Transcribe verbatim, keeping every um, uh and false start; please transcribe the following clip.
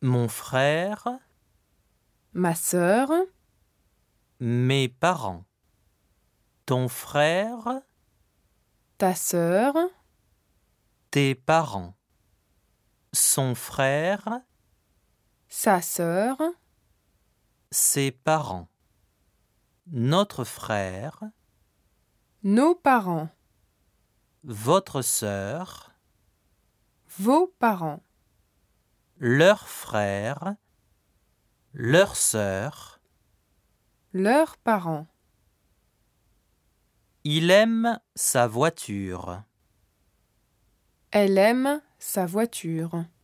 mon frère, ma sœur, mes parents, ton frère, ta sœur, tes parents, son frère, sa sœur, ses parents, notre frère, nos parents, votre sœur, vos parents, leur frère, leur sœur. leurs parents. Il aime sa voiture. Elle aime sa voiture.